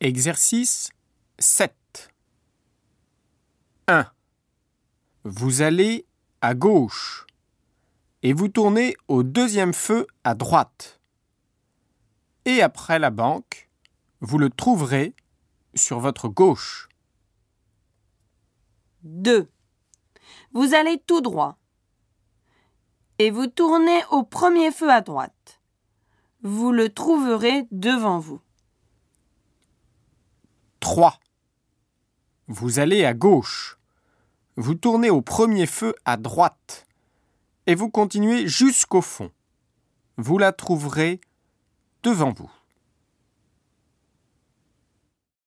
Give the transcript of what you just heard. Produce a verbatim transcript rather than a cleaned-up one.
Exercice sept. un. Vous allez à gauche et vous tournez au deuxième feu à droite. Et après la banque, vous le trouverez sur votre gauche. deux. Vous allez tout droit et vous tournez au premier feu à droite. Vous le trouverez devant vous. trois. Vous allez à gauche. Vous tournez au premier feu à droite et vous continuez jusqu'au fond. Vous la trouverez devant vous.